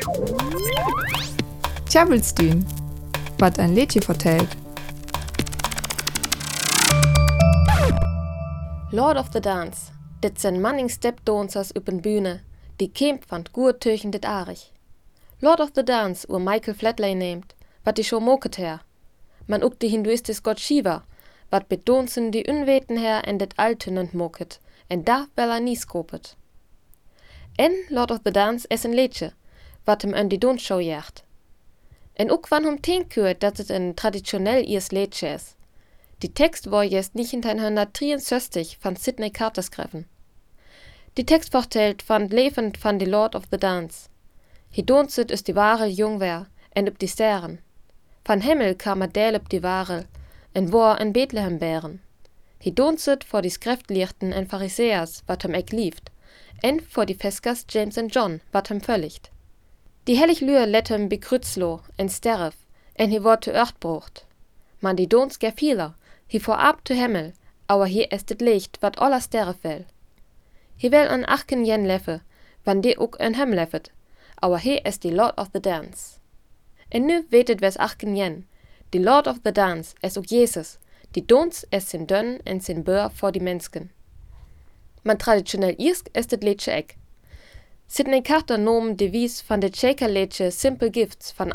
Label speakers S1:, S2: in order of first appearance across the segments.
S1: Tjabelstühn, wat ein Liedje vertellt.
S2: Lord of the Dance, dit zijn manning stepdancers op een bühne, die kämpft van het goed tegen dit arig. Lord of the Dance ur Michael Flatley neemt, wat die show moket her. Man ook die hinduistische god Shiva, wat bedonsen die unweten her en dit altunend moket, en daar wel nie skopet. En Lord of the Dance is een liedje, wat hem aan die Donsshow jaagt. En ook van hem teenkeurt dat het een traditioneel Iers liedje is. Die Text war jetzt 1963 van Sydney Carter schreven. Die Text vertelt van het leven van de Lord of the Dance. Hij danset is die ware jongwer en op die sterren. Van Himmel kam deel op die ware en war in Bethlehem bären. Hij danset voor die schriftleerten en fariseers, wat hem ek lieft, en voor die Feskers James en John, wat hem völligt. Die hellig Lühr let hem bekrutzlo en sterf, en hij wordt te earth brocht. Man die dans ger vieler, hij voorab te Himmel, aber hier ist het licht, wat aller sterre fell. Hij wil een achten jen leffe, wann die ook een hem leffet, aber hier ist die Lord of the Dance. En nu weet het wes achten jen, die Lord of the Dance is ook Jezus, die dans es sin dön en sin beur voor die Menschen. Man traditionell Iersk ist het liedje ek. Sydney Carter noem de wies van de Shaker-liedje Simple Gifts van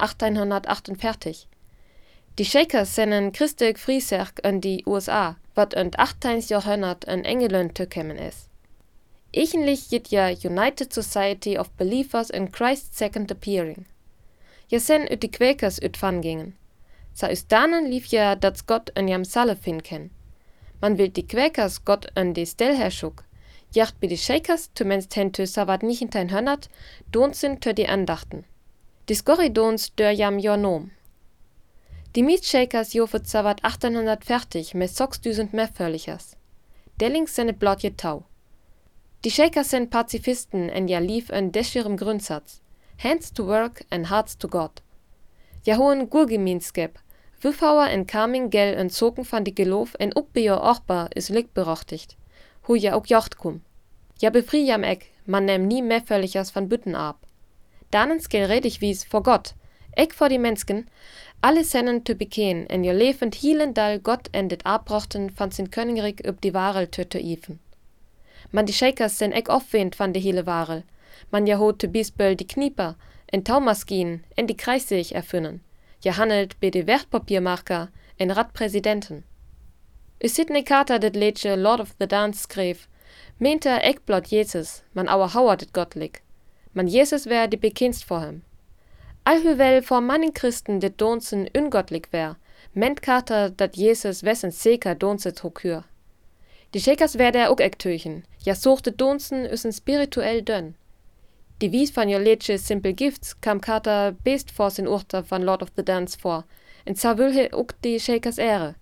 S2: 1848. Die Shakers zijn een christelijk vrieserk in die USA, wat in het 18e Jahrhundert in Engeland toekomen is. Eigentlich jit ja United Society of Believers in Christ's Second Appearing. Ja sen ut die Quakers ut van gingen. Sa us danen lief ja dat Gott in jam Salle fin ken. Man will die Quakers Gott in die Stel herschuk. Jacht bei die Shakers zumindest hentu sa wat 1900 donsen tö die Andachten. Die Skorridons dör jam jornom. Die Mietshakers jofet sa wat 1840 met 6000 mehrvölligers. Dellings sind blotje tau. Die Shakers sind Pazifisten en ja lief en descherem Grundsatz. Hands to work and hearts to God. Ja hohen Gurgeminskep. Wüffauer en Carming gel en zoken van die geloof en ook bij ochbar is likberachtigt. Hoe ja ook jacht kum. Ja befrie jam ek, man nehm nie mehrvölligers van Bütten ab. Danens gel redig wies vor Gott. Ek vor die Menschen, alle sennen te bekeen en je levend hielen dal Gott en dit abrochten van sin Königreich op die Warel te iven. Man die Shakers sen ek opwend van de hele Warel. Man ja hoot te biesböll die Knieper en Taumaskinen en die Kreisseeg erfinnen. Ja handelt bei de Wertpapiermarker en Radpräsidenten. Sydney Carter dit liedje Lord of the Dance schreef, meente ek blot Jesus, man auer hauer dit gottlik. Man Jesus wär die bekendst vor hem. Alhoewel voor manning Christen dit donsen ungottlik wär, meint Carter dat Jesus wessen zeker donset hokür. Die Shakers wär der ook ek teuchen, ja sochte donsen üssen spirituell dön. Die wies van jo liedje Simple Gifts kam Carter best vor sin Urter van Lord of the Dance vor, en sa will he ook die Shakers Ehre.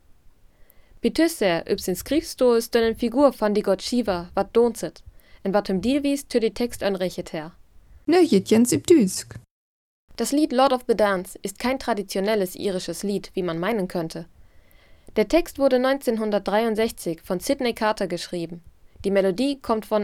S2: Betusse üb sin skrifsto is dön en Figur van die god Shiva, wat donset, en wat hem deal wies tö die Text anrechet her.
S1: Nö jens üb Düsk.
S2: Das Lied Lord of the Dance ist kein traditionelles irisches Lied, wie man meinen könnte. Der Text wurde 1963 von Sydney Carter geschrieben. Die Melodie kommt von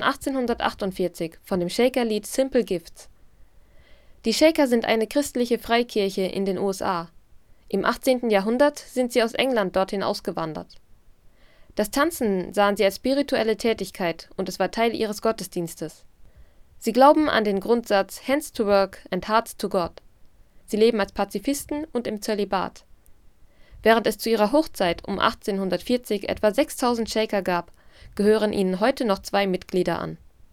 S2: 1848 von dem Shaker-Lied Simple Gifts. Die Shaker sind eine christliche Freikirche in den USA. Im 18. Jahrhundert sind sie aus England dorthin ausgewandert. Das Tanzen sahen sie als spirituelle Tätigkeit und es war Teil ihres Gottesdienstes. Sie glauben an den Grundsatz Hands to work and hearts to God. Sie leben als Pazifisten und im Zölibat. Während es zu ihrer Hochzeit um 1840 etwa 6000 Shaker gab, gehören ihnen heute noch 2 Mitglieder an.